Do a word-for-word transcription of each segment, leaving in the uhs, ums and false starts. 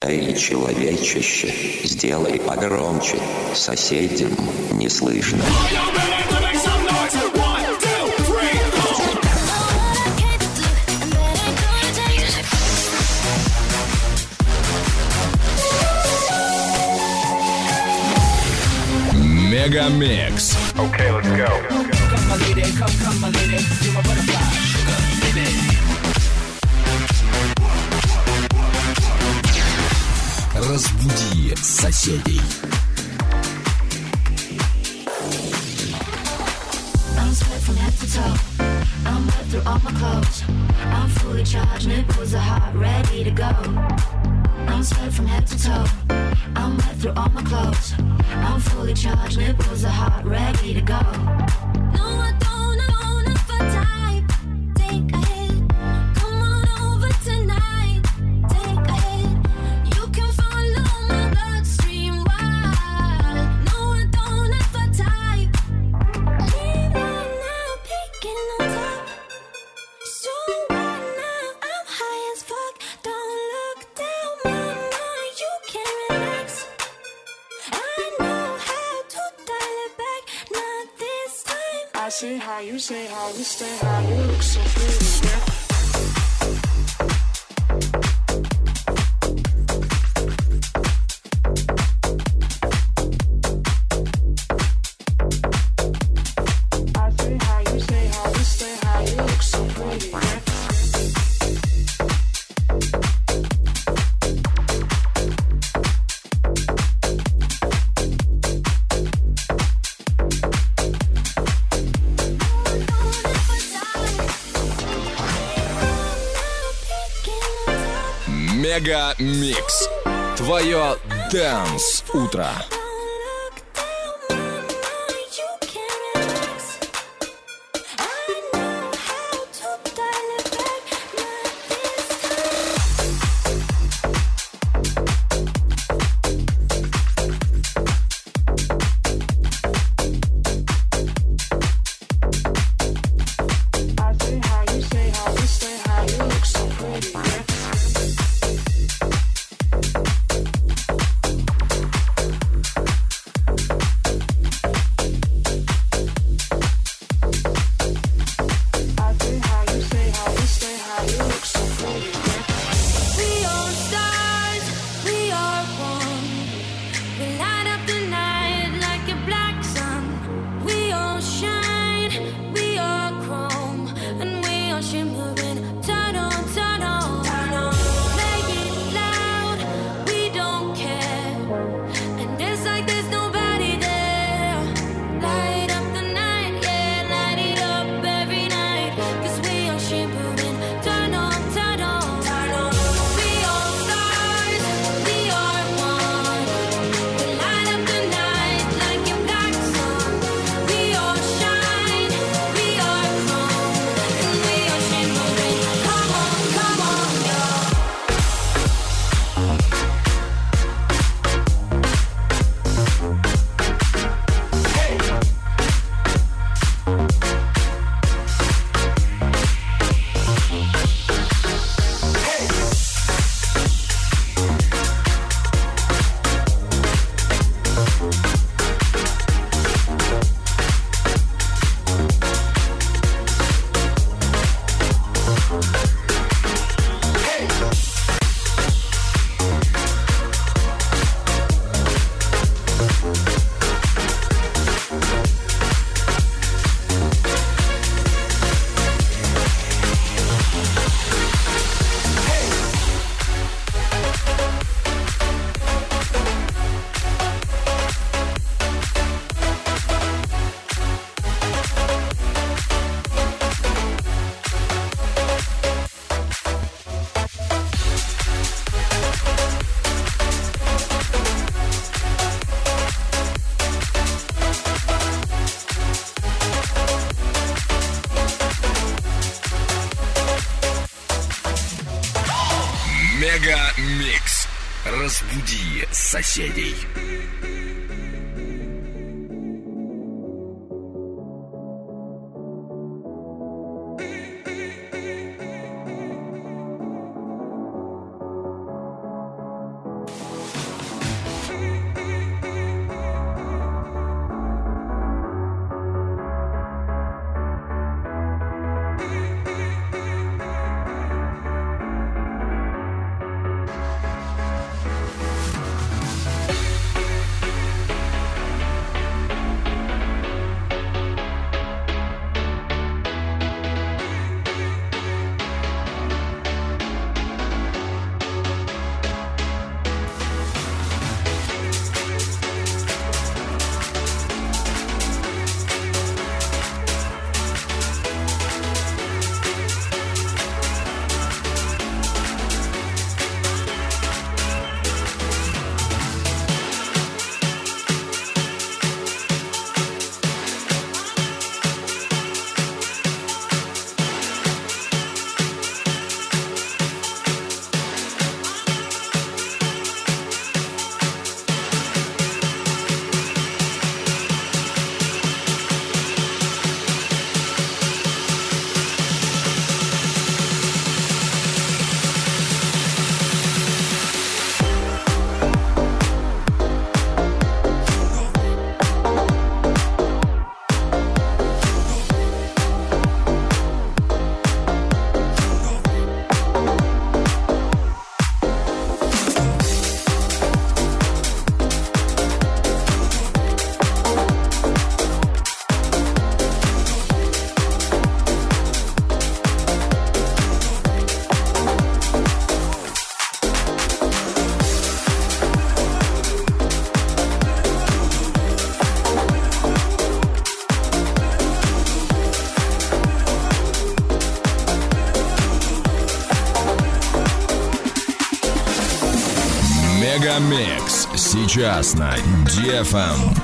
Эй, человечище, сделай погромче, соседям не слышно. Мегамикс. Okay, let's go. Come my lady, come, come my lady, you're my butterfly, sugar, baby. Разбуди соседей. I'm sweat from head to toe. I'm wet through all my clothes. I'm fully charged, nipples are hot, ready to go. I'm sweat from head to toe. I'm wet through all my clothes. I'm fully charged, nipples are hot, ready to go. No, I don't, I don't have a type. Take a hit, come on over tonight. Take a hit, you can follow my bloodstream wild. No, I don't have a type. Lean on now, peeking on top. So right now, I'm high as fuck. Don't look down, mama, you can relax. I know how to dial it back, not this time. I see how you say how you stay, how you look so pretty, yeah. I see how you say how you stay, how you look so pretty, yeah. Мегамикс. Твое Dance утро. Мегамикс. Разбуди соседей. Мегамикс сейчас на ди эф эм.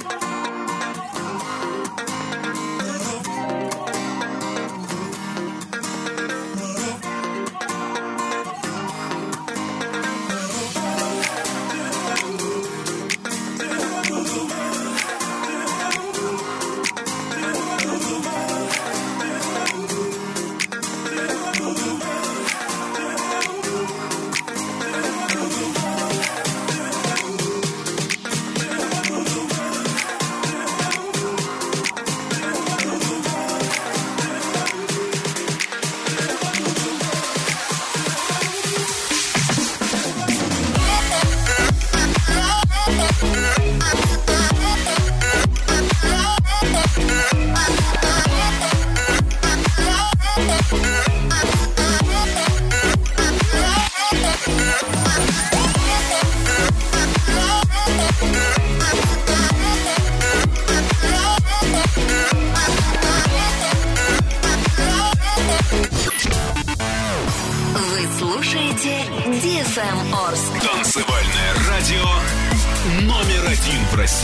Танцевальное радио номер один в России.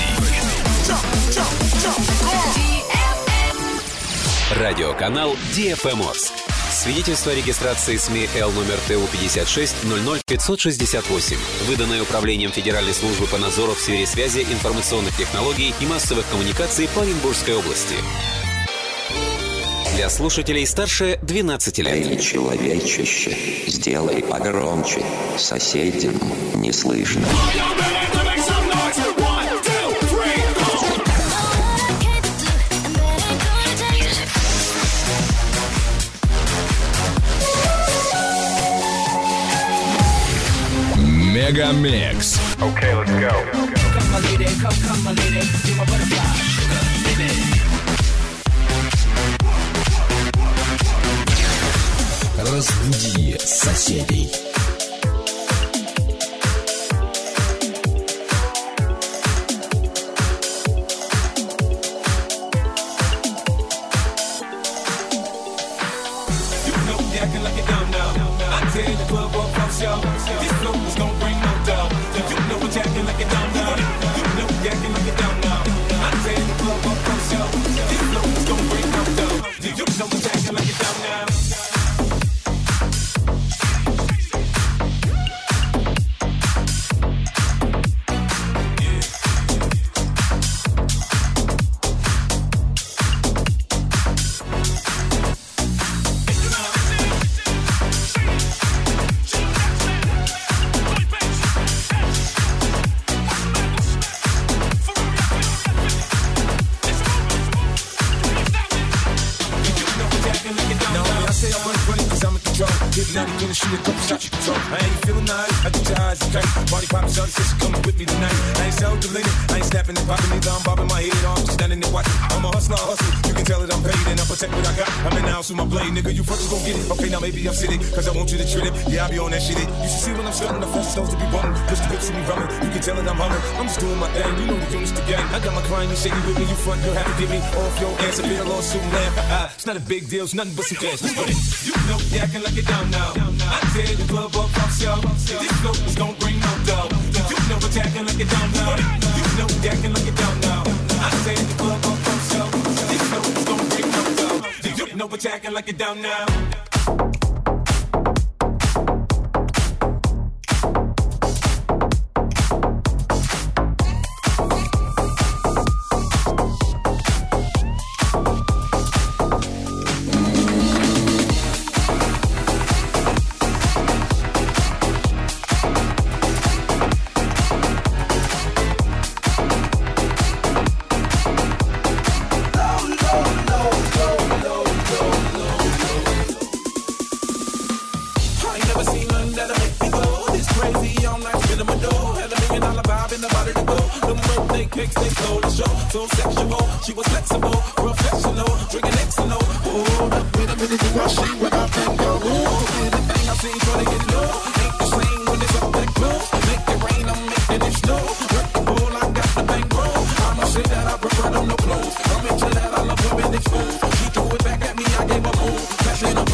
Радиоканал ди эф эм Орск. Свидетельство о регистрации СМИ Л номер Т У пятьдесят шесть ноль ноль пятьсот шестьдесят восемь, выданное Управлением Федеральной службы по надзору в сфере связи, информационных технологий и массовых коммуникаций по Оренбургской области. Для слушателей старше двенадцати лет. Эй, человечище, сделай погромче, соседям не слышно. Мегамикс. Okay, let's go. Come, my lady, come, come, my lady, you're my butterfly, sugar, baby. Разбуди соседей. Nigga, you first gon' get it. Okay, now maybe I'm sitting, cause I want you to treat it. Yeah, I be on that shit. You should see when I'm starting the first stones to be bumming. Push the whips to me rumming. You can tell that I'm humming. I'm just doing my thing. You know the units the gang. I got my client, you shaking with me. You front, you'll have to get me off your ass. A bit of lawsuit and laugh. Ah, it's not a big deal, it's nothing but some cash. Let's go. You know you acting like you're down now. I tear the club up off show. This float is gon' bring no dough. You know it's acting like you're down now. You know you acting like you're down now. I tear the club up off show. This float is gon' bring no dough. You know it's acting like you're down now.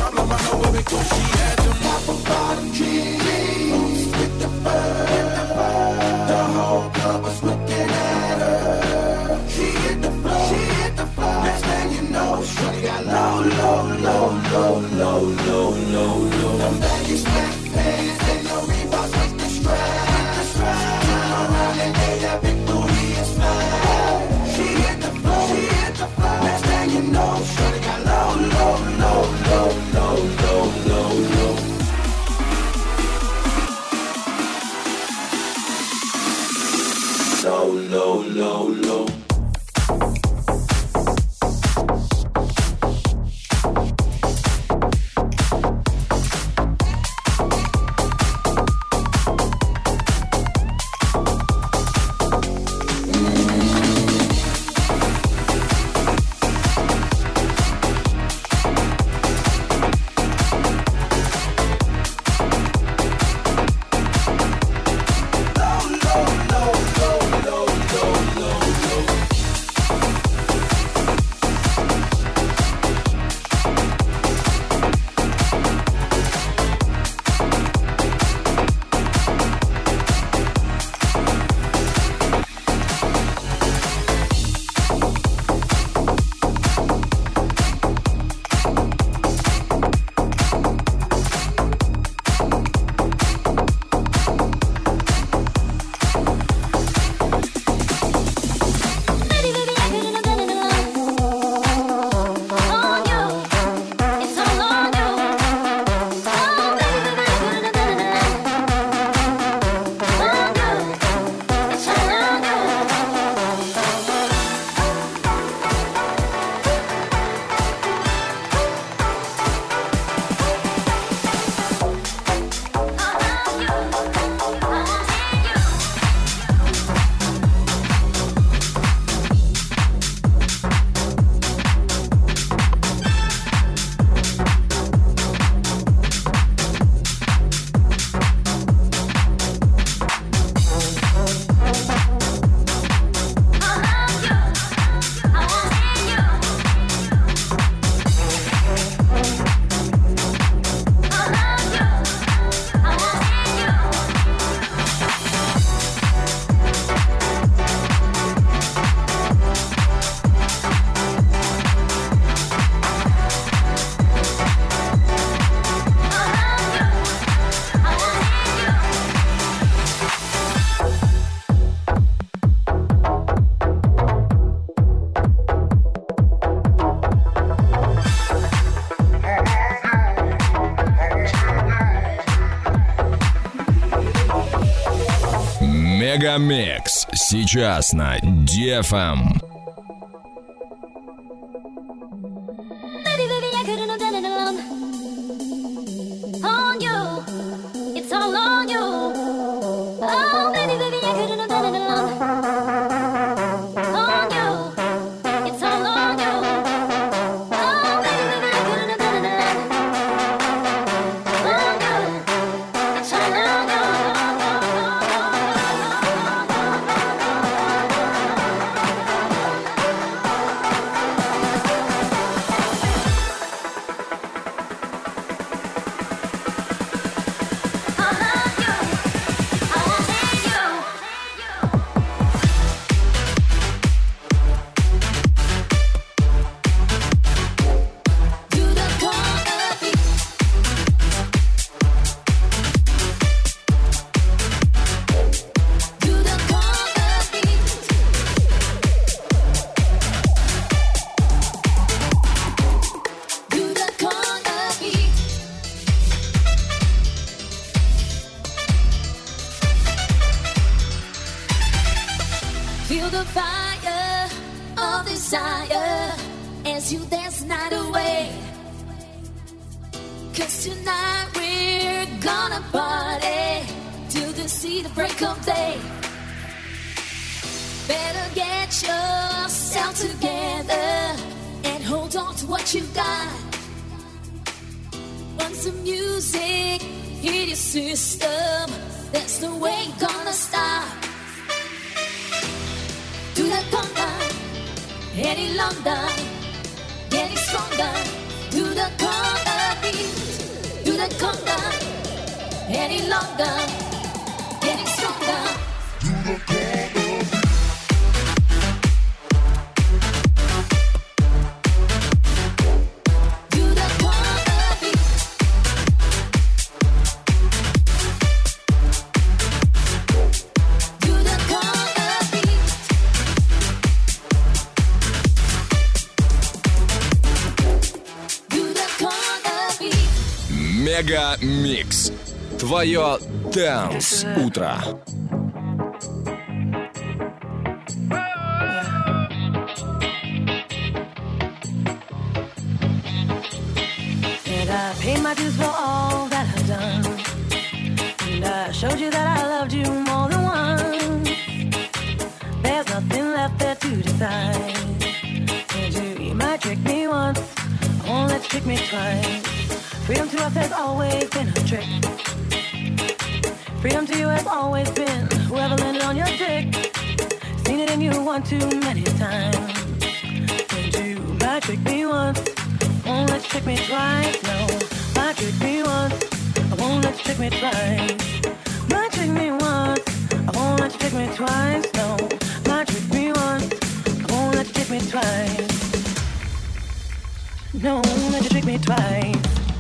She had them apple bottom jeans with the fur. low, low, low. Мегамикс сейчас на ди эф эм. Baby, baby, I couldn't have done it alone. On you, it's all on you. Oh, baby, baby, I couldn't have done it alone. On you, it's all on you. Oh, baby, baby, I couldn't have done it alone. On you, it's all on you. Feel the fire of desire as you dance the night away. 'Cause tonight we're gonna party till the see the break of day. Better get yourself together and hold on to what you've got. Once the music hit your system, that's the way you're gonna stop. Do that conga any longer, getting stronger. Do the conga beat, do the conga any longer, getting stronger. Do the conga beat. Do the conga beat. Do the conga beat. Мега Микс. Твое Dance утро. paid my dues for all that I've done. And I showed you that I loved you more than once. There's nothing left there to decide. And you, you might trick me once, won't let you trick me twice. Freedom to us has always been a trick. Freedom to you has always been whoever landed on your dick. Seen it in you one too many times. And you might trick me once, won't let you trick me twice. No, might trick me once, I won't let you trick me twice. Might trick me once, I won't let you trick me twice. No, might trick me once, I won't let you trick me twice. No, I won't let you trick me twice.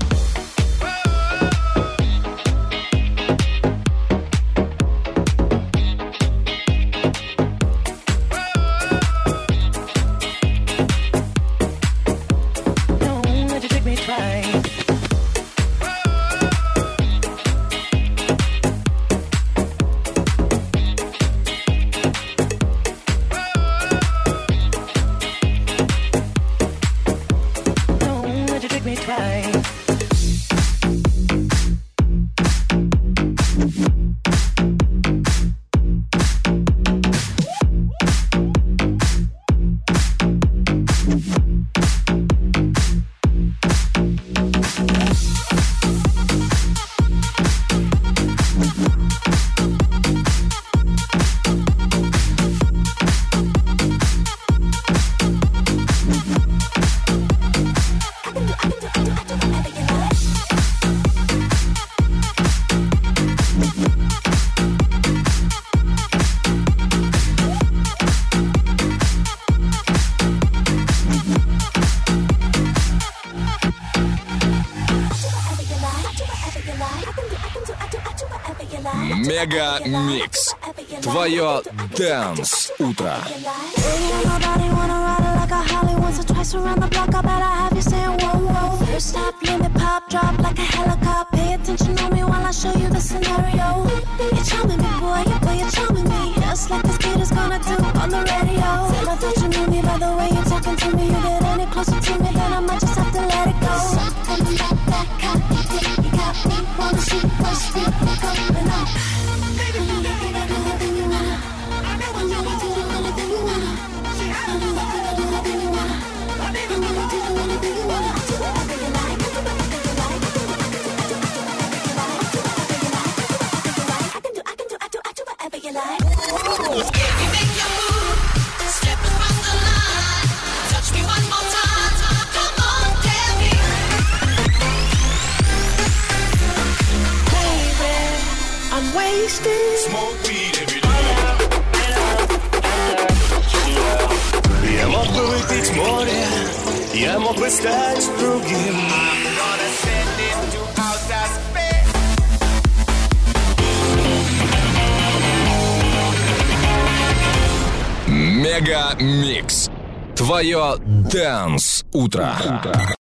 Мега Микс. Твое Dance утро. Twice around the block, I bet I have you saying whoa, whoa. First stop, limit, pop, drop like a helicopter. Pay attention on me while I show you the scenario. You're charming me, boy, yeah, boy, you're charming me. Just like this kid is gonna do on the radio. Said I thought you knew me by the way you're talking to me. You get any closer to me, then I might just have to let it go. Something about that copy, you got me, wanna shoot, push me, coming up. Baby, you can do anything you wanna. I know when you can do anything you wanna. I know you can do anything you wanna. Smoke weed every day. Я мог бы выпить море, я мог бы стать другим. Мега Микс. Твое Dance утро.